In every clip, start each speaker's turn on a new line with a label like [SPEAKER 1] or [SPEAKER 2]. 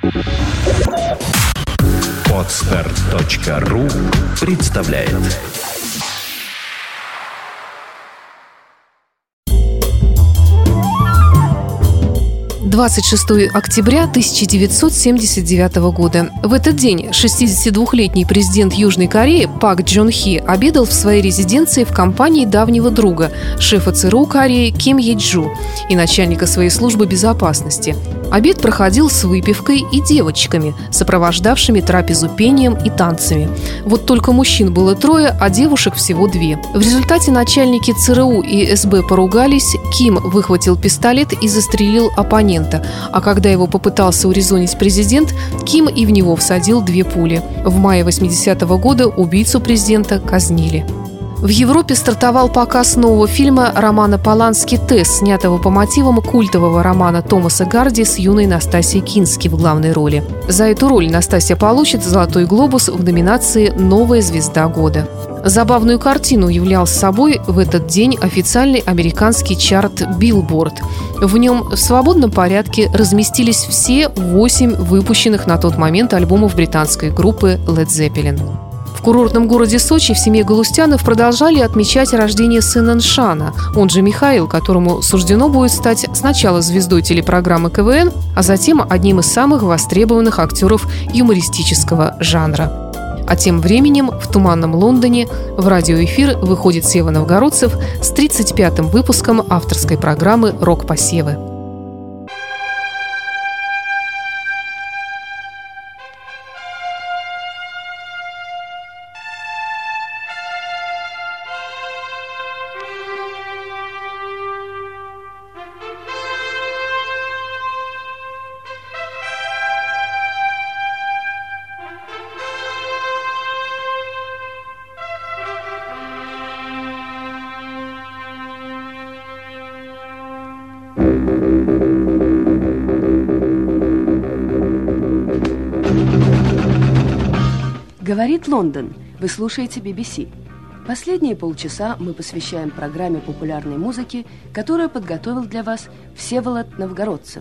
[SPEAKER 1] Podster.ru представляет.
[SPEAKER 2] 26 октября 1979 года. В этот день 62-летний президент Южной Кореи Пак Джон Хи обедал в своей резиденции в компании давнего друга, шефа ЦРУ Кореи Ким Е Джу и начальника своей службы безопасности. Обед проходил с выпивкой и девочками, сопровождавшими трапезу пением и танцами. Вот только мужчин было 3, а девушек всего 2. В результате начальники ЦРУ и СБ поругались, Ким выхватил пистолет и застрелил оппонента, а когда его попытался урезонить президент, Ким и в него всадил 2 пули. В мае 80-го года убийцу президента казнили. В Европе стартовал показ нового фильма Романа Полански «Тесс», снятого по мотивам культового романа Томаса Гарди с юной Настасьей Кински в главной роли. За эту роль Настасья получит «Золотой глобус» в номинации «Новая звезда года». Забавную картину являл собой в этот день официальный американский чарт Billboard. В нем в свободном порядке разместились все 8 выпущенных на тот момент альбомов британской группы Led Zeppelin. В курортном городе Сочи в семье Галустяновых продолжали отмечать рождение сына Ншана, он же Михаил, которому суждено будет стать сначала звездой телепрограммы КВН, а затем одним из самых востребованных актеров юмористического жанра. А тем временем в туманном Лондоне в радиоэфир выходит Сева Новгородцев с 35-м выпуском авторской программы «Рок-посевы».
[SPEAKER 3] Говорит Лондон. Вы слушаете BBC. Последние полчаса мы посвящаем программе популярной музыки, которую подготовил для вас Всеволод Новгородцев.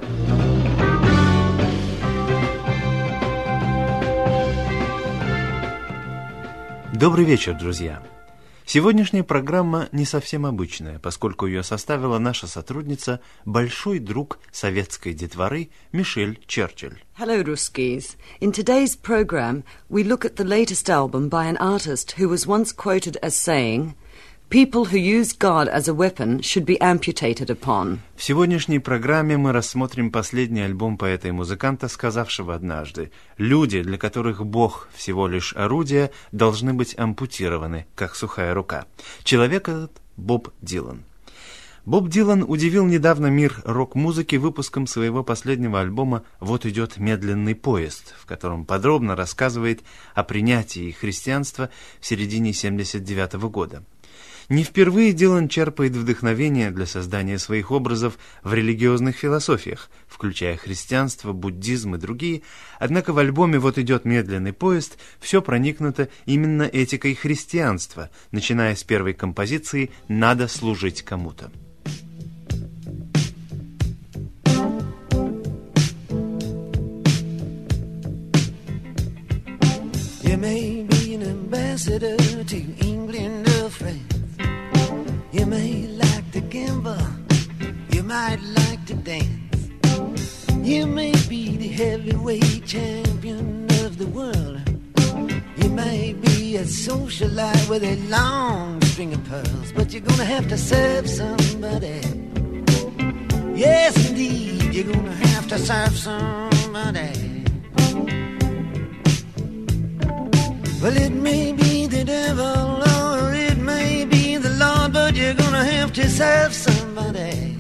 [SPEAKER 4] Добрый вечер, друзья! Сегодняшняя программа не совсем обычная, поскольку ее составила наша сотрудница, большой друг советской детворы Мишель Черчилль.
[SPEAKER 5] Hello, Ruskies. In today's program, we look at the latest album by an artist who was once quoted as saying, "People who use God as a weapon should be amputated upon."
[SPEAKER 4] В сегодняшней программе мы рассмотрим последний альбом поэта и музыканта, сказавшего однажды: «Люди, для которых Бог всего лишь орудие, должны быть ампутированы, как сухая рука». Человек этот — Боб Дилан. Боб Дилан удивил недавно мир рок-музыки выпуском своего последнего альбома «Вот идет медленный поезд», в котором подробно рассказывает о принятии христианства в середине 1979 года. Не впервые Дилан черпает вдохновение для создания своих образов в религиозных философиях, включая христианство, буддизм и другие, однако в альбоме «Вот идет медленный поезд» все проникнуто именно этикой христианства, начиная с первой композиции «Надо служить кому-то».
[SPEAKER 6] You may be an ambassador to England or France. You may like to gamble, you might like to dance. You may be the heavyweight champion of the world. You may be a socialite with a long string of pearls, but you're gonna have to serve somebody. Yes, indeed, you're gonna have to serve somebody. Well, it may be the devil or it may be the Lord, but you're gonna have to serve somebody.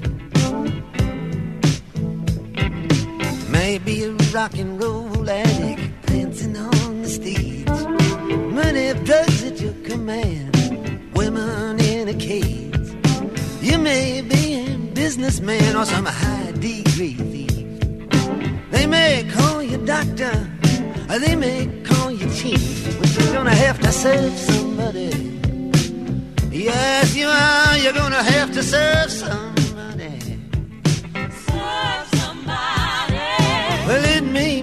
[SPEAKER 6] Maybe a rock and roll addict dancing on the stage, money of drugs at your command, women in a cage. You may be a businessman or some high degree thief. They may call you doctor, or they may call you chief, but you're gonna have to serve somebody. Yes, you are. You're gonna have to serve somebody. Serve somebody. Well, it may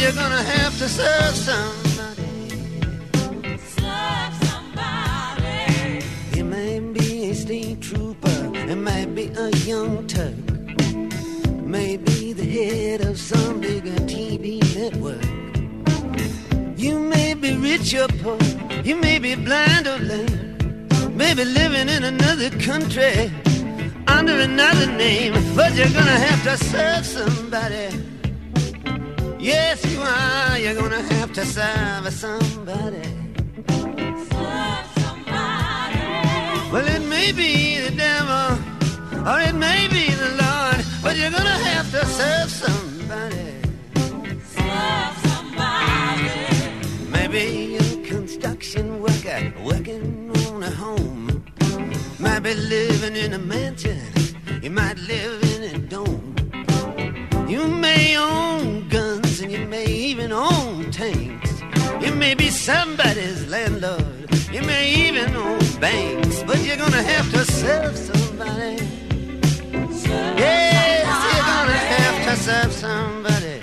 [SPEAKER 6] you're gonna have to serve somebody.
[SPEAKER 7] Serve somebody.
[SPEAKER 6] It may be a state trooper, it might be a young Turk, maybe the head of some bigger TV network. You may be rich or poor, you may be blind or lame, maybe living in another country under another name, but you're gonna have to serve somebody. Yes, you are. You're gonna have to serve somebody.
[SPEAKER 7] Serve somebody.
[SPEAKER 6] Well, it may be the devil, or it may be the Lord, but you're gonna have to serve somebody.
[SPEAKER 7] Serve somebody.
[SPEAKER 6] Maybe a construction worker working on a home, might be living in a mansion, you might live in a dome. You may own guns and you may even own tanks. You may be somebody's landlord, you may even own banks, but you're gonna have to serve somebody.
[SPEAKER 7] Serve
[SPEAKER 6] Yes,
[SPEAKER 7] somebody.
[SPEAKER 6] you're gonna have to serve somebody.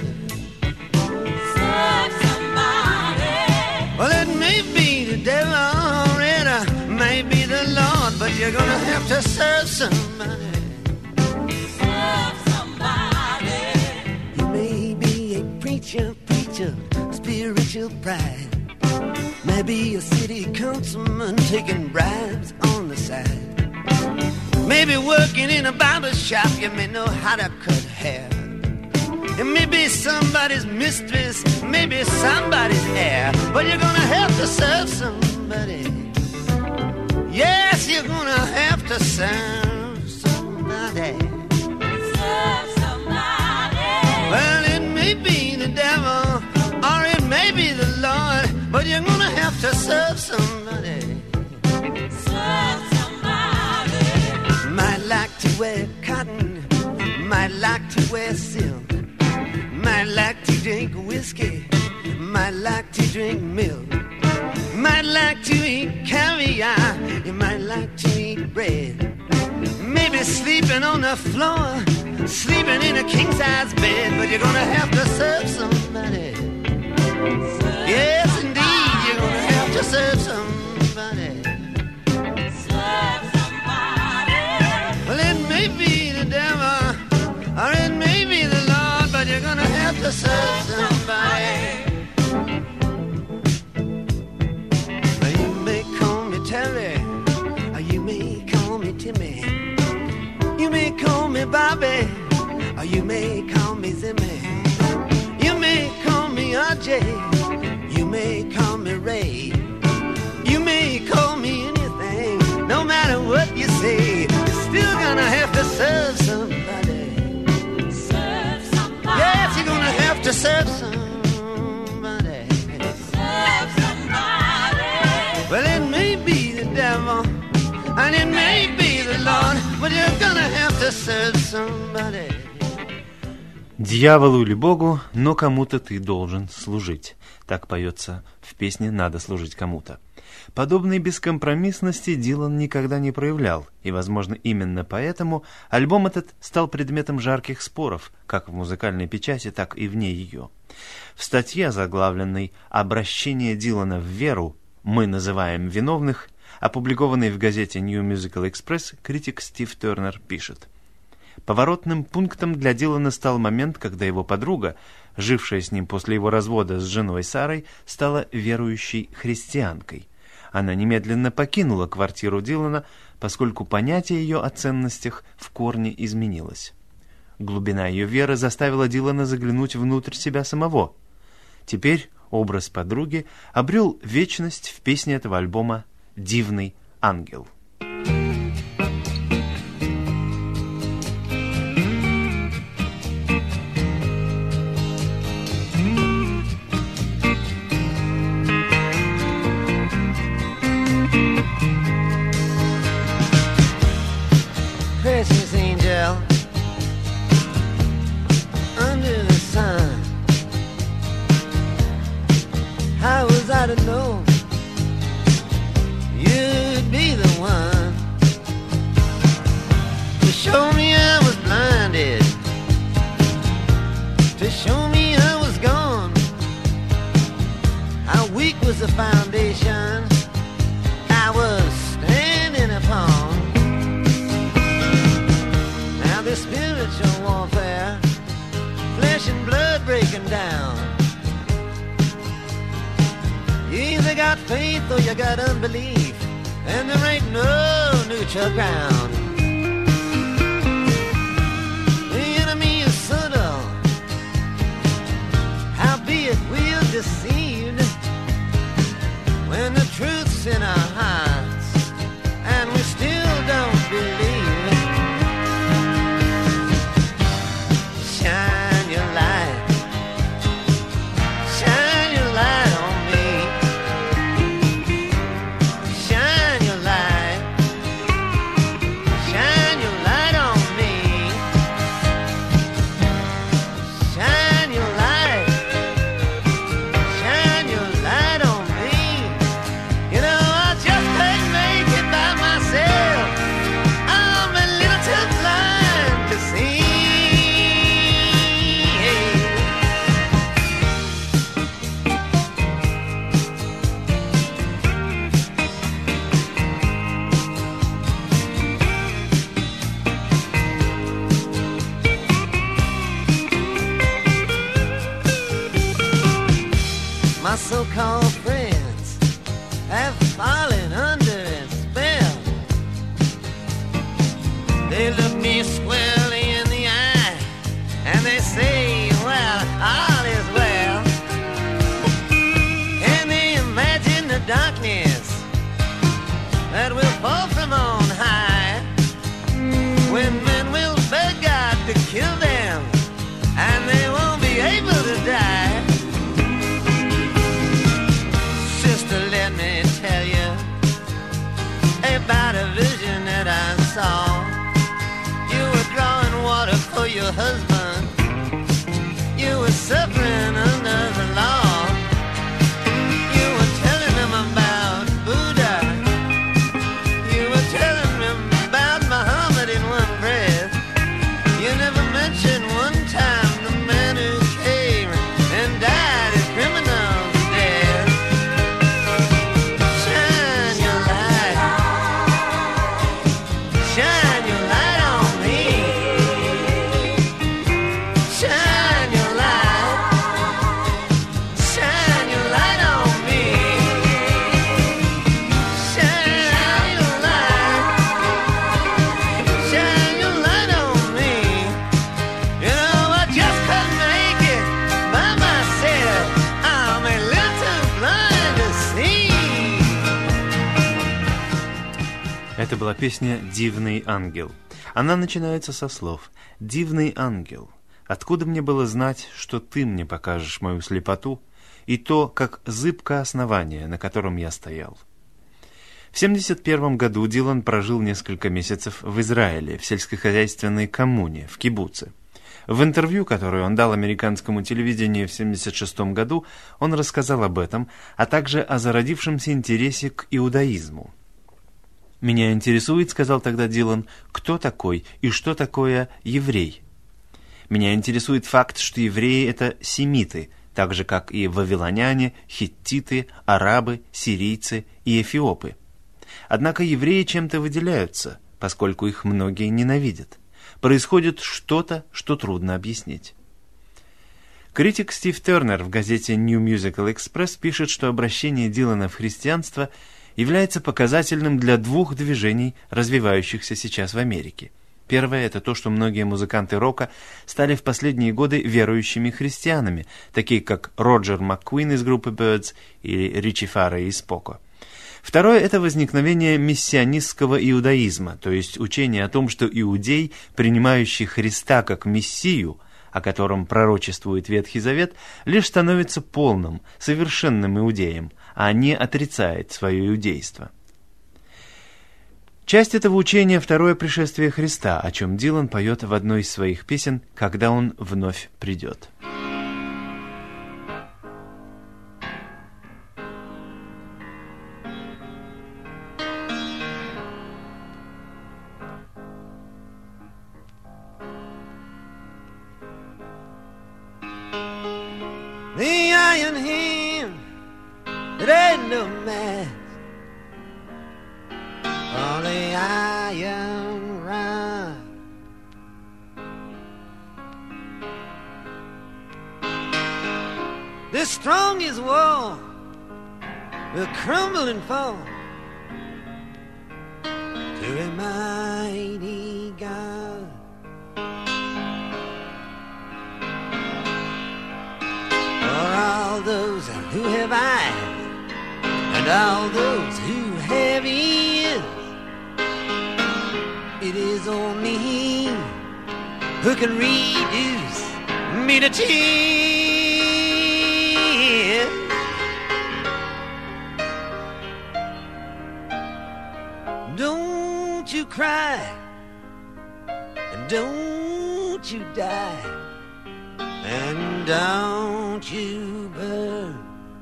[SPEAKER 7] Serve somebody.
[SPEAKER 6] Well, it may be the devil or it may be the Lord, but you're gonna have to serve somebody.
[SPEAKER 7] Serve somebody.
[SPEAKER 6] You may be a preacher, spiritual pride. Maybe a city councilman taking bribes on the side. Maybe working in a barber shop, you may know how to cut hair. It may be somebody's mistress, maybe somebody's heir, but you're gonna have to serve somebody. Yes, you're gonna have to serve somebody.
[SPEAKER 7] Serve somebody.
[SPEAKER 6] Well, it may be the devil, or it may be the Lord, but you're gonna have to serve somebody.
[SPEAKER 7] Serve somebody.
[SPEAKER 6] Might like to wear cotton, might like to wear silk, might like to drink whiskey, might like to drink milk, might like to eat caviar, you might like to eat bread, maybe sleeping on the floor, sleeping in a king-size bed, but you're gonna have to serve somebody. Yes, indeed, you're gonna have to serve somebody.
[SPEAKER 7] Serve somebody.
[SPEAKER 6] Well, it may be the devil, or it may be the Lord, but you're gonna have to serve somebody. Well, you may call me Terry, or you may call me Timmy. You may call me Bobby, or you may call me Zimmy. You may call me RJ, you may call me Ray. You may call me anything, no matter what you say, you're still gonna have to serve somebody.
[SPEAKER 7] Serve somebody.
[SPEAKER 6] Yes, you're gonna have to serve somebody.
[SPEAKER 7] Serve somebody.
[SPEAKER 6] Well, it may be the devil, and it may be the Lord, but you're gonna have to serve somebody.
[SPEAKER 4] Дьяволу или Богу, но кому-то ты должен служить. Так поется в песне «Надо служить кому-то». Подобной бескомпромиссности Дилан никогда не проявлял, и, возможно, именно поэтому альбом этот стал предметом жарких споров, как в музыкальной печати, так и вне ее. В статье, озаглавленной «Обращение Дилана в веру. Мы называем виновных», опубликованной в газете New Musical Express, критик Стив Тернер пишет: поворотным пунктом для Дилана стал момент, когда его подруга, жившая с ним после его развода с женой Сарой, стала верующей христианкой. Она немедленно покинула квартиру Дилана, поскольку понятие ее о ценностях в корне изменилось. Глубина ее веры заставила Дилана заглянуть внутрь себя самого. Теперь образ подруги обрел вечность в песне этого альбома «Дивный ангел».
[SPEAKER 6] Precious angel, under the sun, how was I to know you'd be the one? spiritual warfare, flesh and blood breaking down. You either got faith or you got unbelief, and there ain't no neutral ground. The enemy is subtle, howbeit we're deceived when the truth's in our hearts and we still don't believe. Shine your light, shine your light on me. Shine your light, shine your light on me. Shine your light, shine your light on me. You know I just can't make it by myself. I'm a little too blind to see. My so-called friends have fallen under its spell. They look me squarely in the eye and they say, well, all is well. And they imagine the darkness that will fall from on high, when men will beg God to kill them and they won't be able to die. Sister, let me tell you about a vision that I saw. You were drawing water for your husband. You were suffering under the law. You were telling him about Buddha. You were telling him about Muhammad in one breath. You never mentioned one time the man who came and died a criminal's death. Shine your light, shine your light on me. Shine your light, shine your light on me. Shine your light, shine your light on me. You know I just couldn't make it by myself. I'm a little too blind to see.
[SPEAKER 4] Это была песня «Дивный ангел». Она начинается со слов «Дивный ангел, откуда мне было знать, что ты мне покажешь мою слепоту и то, как зыбко основание, на котором я стоял». В 1971 году Дилан прожил несколько месяцев в Израиле, в сельскохозяйственной коммуне, в кибуце. В интервью, которое он дал американскому телевидению в 1976 году, он рассказал об этом, а также о зародившемся интересе к иудаизму. «Меня интересует, — сказал тогда Дилан, — кто такой и что такое еврей. Меня интересует факт, что евреи — это семиты, так же, как и вавилоняне, хиттиты, арабы, сирийцы и эфиопы. Однако евреи чем-то выделяются, поскольку их многие ненавидят. Происходит что-то, что трудно объяснить». Критик Стив Тернер в газете New Musical Express пишет, что обращение Дилана в христианство является показательным для двух движений, развивающихся сейчас в Америке. Первое – это то, что многие музыканты рока стали в последние годы верующими христианами, такие как Роджер МакКуин из группы Birds или Ричи Фаррелл из Поко. Второе – это возникновение мессианистского иудаизма, то есть учение о том, что иудей, принимающий Христа как Мессию, о котором пророчествует Ветхий Завет, лишь становится полным, совершенным иудеем, а не отрицает свое иудейство. Часть этого учения – второе пришествие Христа, о чем Дилан поет в одной из своих песен «Когда он вновь придет».
[SPEAKER 6] The iron hand, it ain't no match for the iron rod. the strongest wall will crumble and fall to a mighty God. For all those who have eyes and all those who have ears, it is only He who can reduce me to tears. Don't you cry and don't you die and don't you burn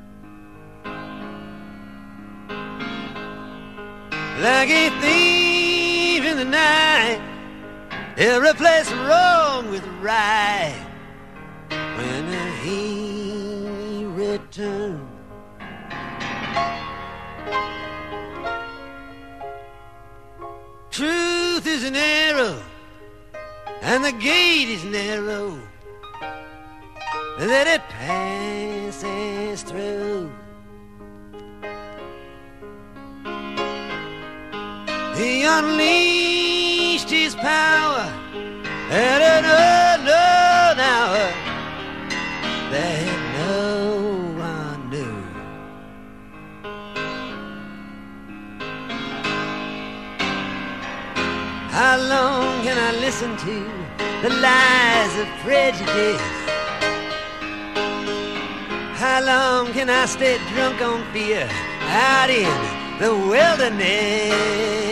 [SPEAKER 6] like a thief in the night. He'll replace wrong with right when He returns. Truth is an arrow and the gate is narrow that it passes through. He unleashed His power at an unknown hour that no one knew. How long can I listen to the lies of prejudice? How long can I stay drunk on fear out in the wilderness?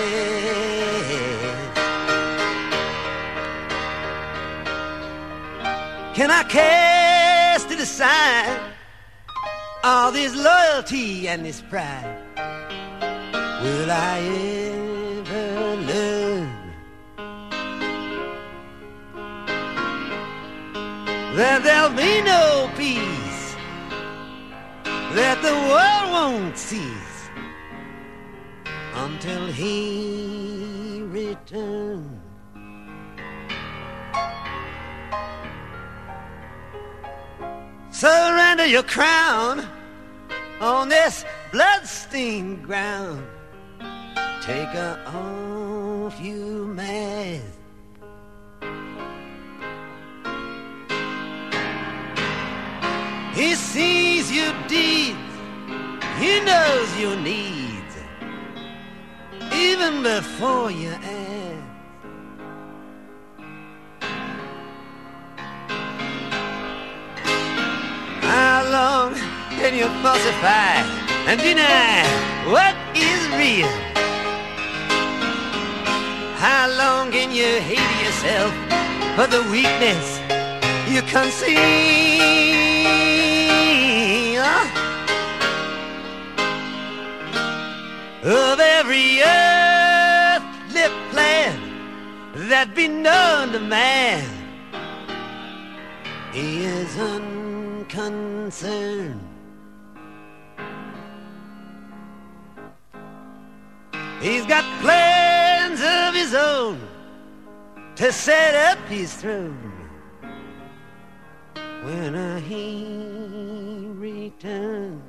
[SPEAKER 6] Can I cast it aside, all this loyalty and this pride? Will I ever learn that there'll be no peace, that the world won't cease until He returns? Surrender your crown on this bloodstained ground. Take her off, you man. He sees your deeds, He knows your needs, even before you ask. How long can you falsify and deny what is real? How long can you hate yourself for the weakness you conceal of every earthly plan that be known to man? He is unconcerned. He's got plans of His own to set up His throne when He returns.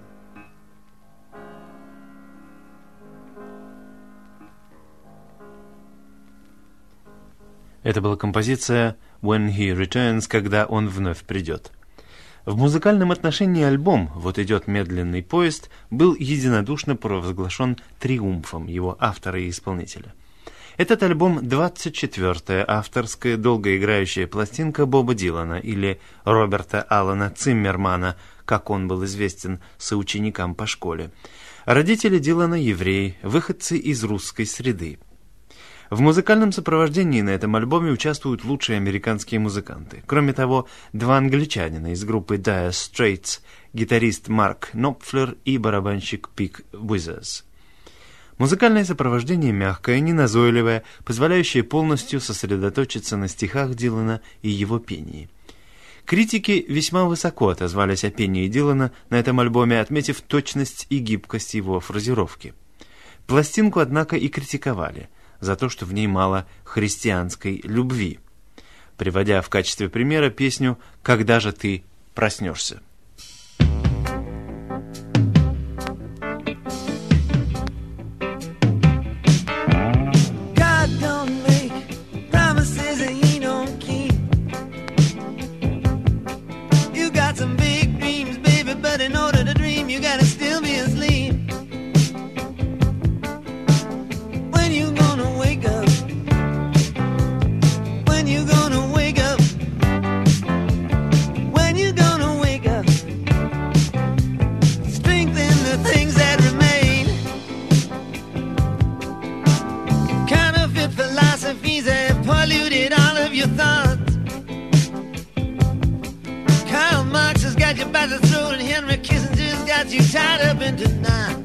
[SPEAKER 4] Это была композиция «When He Returns», когда Он вновь придет. В музыкальном отношении альбом «Вот идет медленный поезд» был единодушно провозглашен триумфом его автора и исполнителя. Этот альбом – 24-я авторская долгоиграющая пластинка Боба Дилана или Роберта Алана Циммермана, как он был известен соученикам по школе. Родители Дилана – евреи, выходцы из русской среды. В музыкальном сопровождении на этом альбоме участвуют лучшие американские музыканты. Кроме того, два англичанина из группы Dire Straits, гитарист Марк Knopfler и барабанщик Пик Withers. Музыкальное сопровождение мягкое, неназойливое, позволяющее полностью сосредоточиться на стихах Дилана и его пении. Критики весьма высоко отозвались о пении Дилана на этом альбоме, отметив точность и гибкость его фразировки. Пластинку, однако, и критиковали за то, что в ней мало христианской любви, приводя в качестве примера песню «Когда же ты проснешься?».
[SPEAKER 6] you by the throat and Henry Kissinger's got you tied up into knots.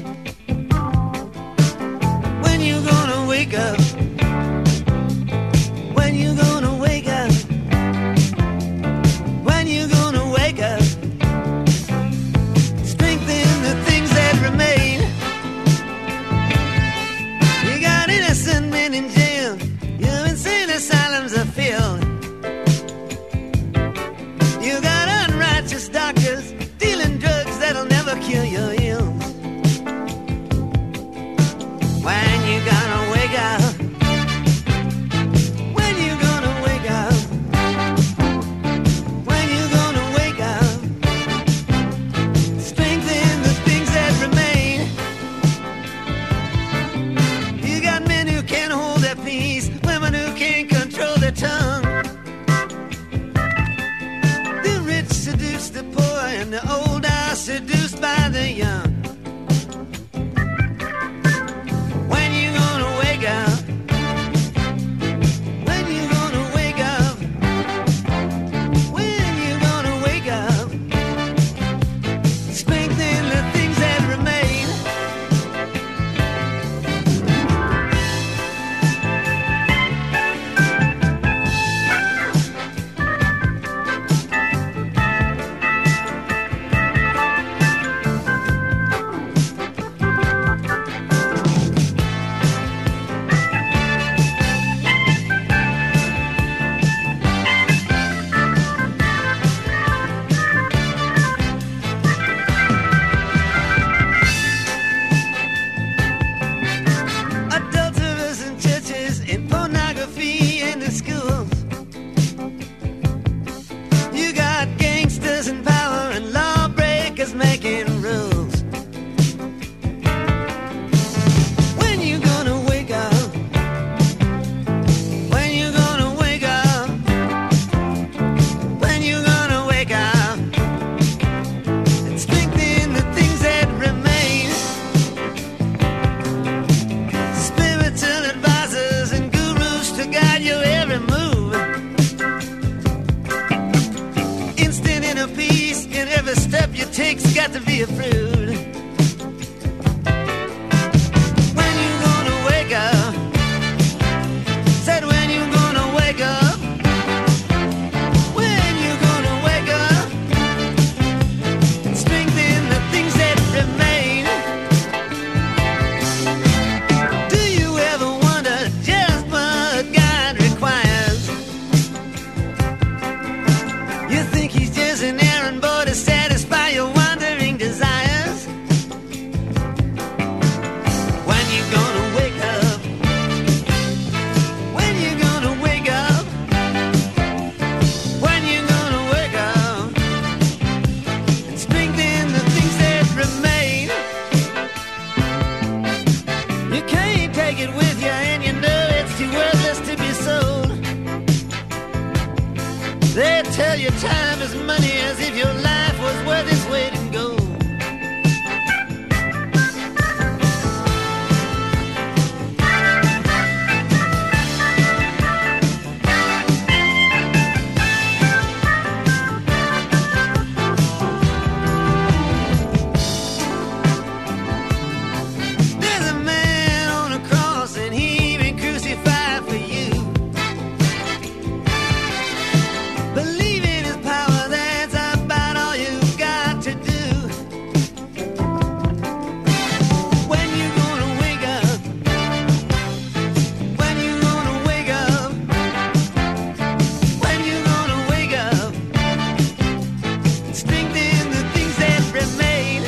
[SPEAKER 6] When you gonna wake up? When you gonna wake up? When you gonna wake up? Strengthen the things that remain. You got innocent men in jail. Your insane asylums are filled. You got unrighteous doctors dealing drugs that'll never cure your ills. When you gonna wake up? When you gonna wake up? When you gonna wake up? Strengthen the things that remain. You got men who can't hold their peace, women who can't control their tongue. The rich seduce the poor, and the old are seduced by the young. When you gonna wake up? When you gonna wake up? When you gonna wake up? Strengthen the things that remain. Adulterers in churches, in pornography in the schools. You got gangsters in power and lawbreakers making rules. When you gonna wake up? When you gonna wake up? When you gonna wake up? And strengthen the things that remain. Spiritual advisors and gurus to guide your every move. Instant inner peace in every step you take's got to be approved. When you gonna wake up? Said when you gonna wake up? When you gonna wake up? And strengthen the things that remain. Do you ever wonder just what God requires? You think he's just an errand boy to satisfy your wandering desires? When you gonna wake up? When you gonna wake up? When you gonna wake up? And strengthen the things that remain. You can't take it with you, and you know it's too worthless to be sold. They tell you time is money, as if your life was worth its weight in gold. There's a man on a cross, and he been crucified for you. Believe in his power, that's about all you've got to do. When you gonna wake up? When you gonna wake up? When you gonna wake up? Strengthen the things that remain.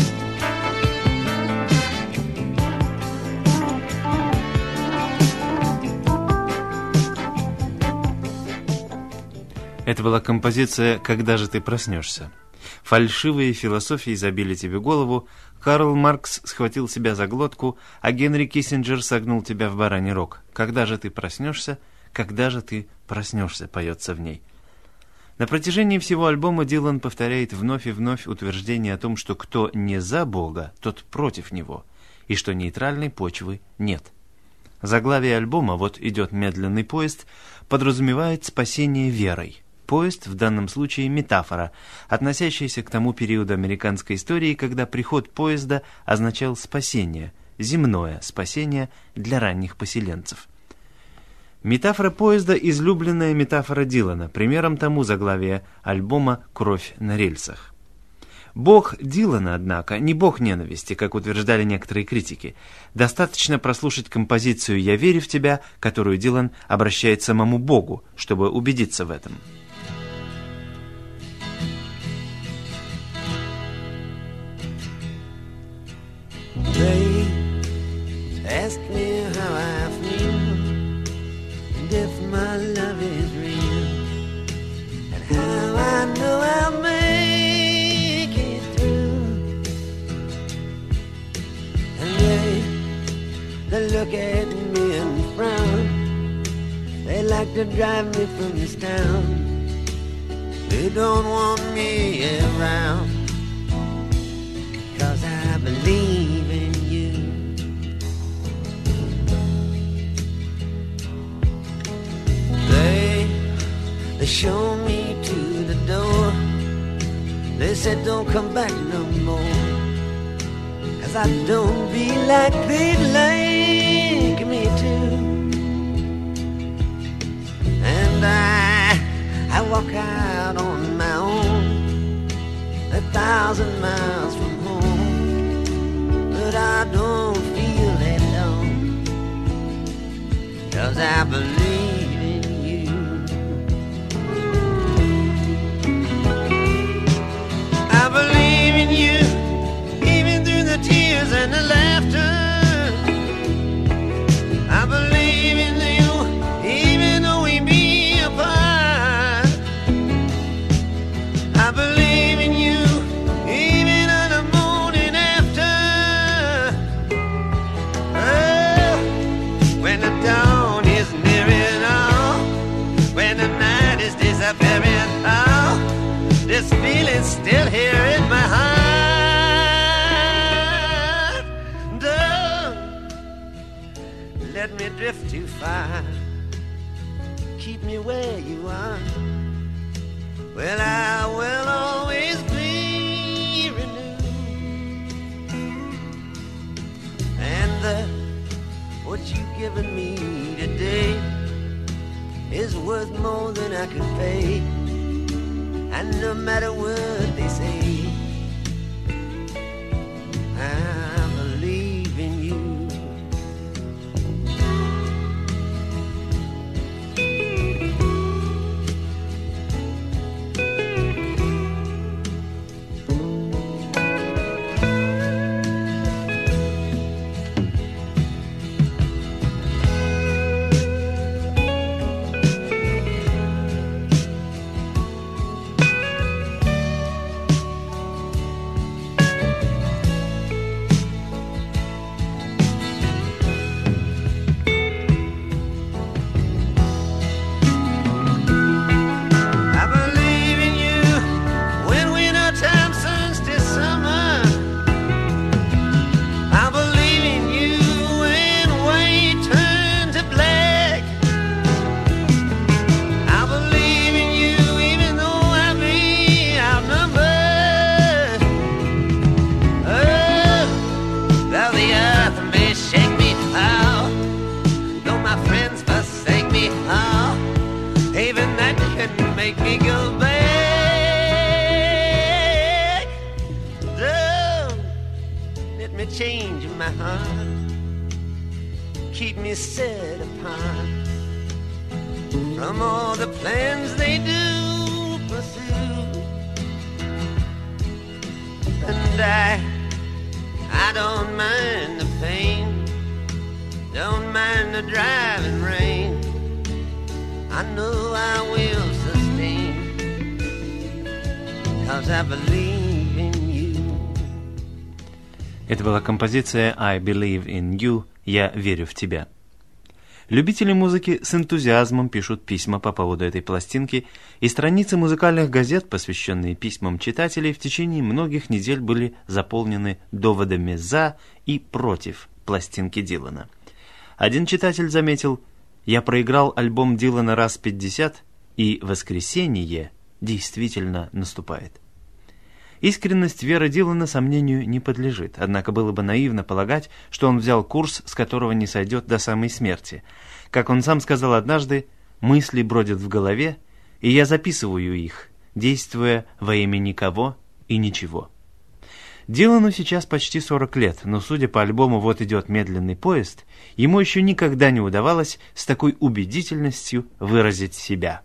[SPEAKER 4] Это была композиция «Когда же ты проснешься?». Фальшивые философии забили тебе голову, Карл Маркс схватил себя за глотку, а Генри Киссинджер согнул тебя в бараний рог. «Когда же ты проснешься? Когда же ты проснешься?» поется в ней. На протяжении всего альбома Дилан повторяет вновь и вновь утверждение о том, что кто не за Бога, тот против Него, и что нейтральной почвы нет. Заглавие альбома «Вот идет медленный поезд» подразумевает спасение верой. Поезд в данном случае метафора, относящаяся к тому периоду американской истории, когда приход поезда означал спасение, земное спасение для ранних поселенцев. Метафора поезда – излюбленная метафора Дилана, примером тому заглавие альбома «Кровь на рельсах». Бог Дилана, однако, не бог ненависти, как утверждали некоторые критики. Достаточно прослушать композицию «Я верю в тебя», которую Дилан обращает самому Богу, чтобы убедиться в этом.
[SPEAKER 6] They ask me how I feel, and if my love is real, and how I know I'll make it through. And they look at me and frown. They like to drive me from this town. They don't want me around, 'cause I believe in you. They show me to the door. They said don't come back no more, 'cause I don't be like they'd like me to. And I walk out on my own, 1,000 miles from home, but I don't feel that alone, 'cause I believe in you. I believe in you, even through the tears and the laughter. I believe in you, even though we be apart. I believe in you, even on the morning after. Oh, when the dawn is nearing, oh, when the night is disappearing, oh, this feeling's still here in my heart. Don't let me drift too far. Keep me where you are. Well, I will always be renewed. And what you've given me today is worth more than I could pay. And no matter what they say, I believe in you. Make me go back. Don't let me change my heart. Keep me set apart from all the plans they do pursue. And I don't mind the pain, don't mind the driving rain. I know I will sustain, 'cause I believe in you.
[SPEAKER 4] Это была композиция «I Believe in You» «Я верю в тебя». Любители музыки с энтузиазмом пишут письма по поводу этой пластинки, и страницы музыкальных газет, посвященные письмам читателей, в течение многих недель были заполнены доводами «за» и «против» пластинки Дилана. Один читатель заметил: «Я проиграл альбом Дилана раз 50, и воскресение действительно наступает. Искренность веры Дилана сомнению не подлежит, однако было бы наивно полагать, что он взял курс, с которого не сойдет до самой смерти. Как он сам сказал однажды, «Мысли бродят в голове, и я записываю их, действуя во имя никого и ничего». Дилану сейчас почти 40 лет, но, судя по альбому «Вот идет медленный поезд», ему еще никогда не удавалось с такой убедительностью выразить себя.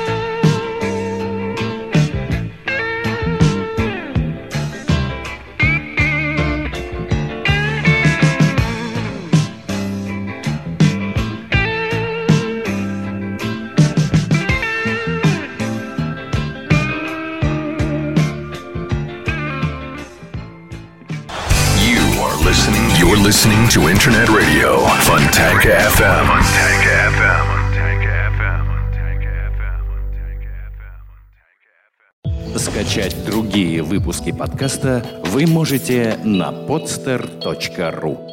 [SPEAKER 1] You're listening to Internet Radio, Fontanka FM. Скачать другие выпуски подкаста вы можете на podster.ru.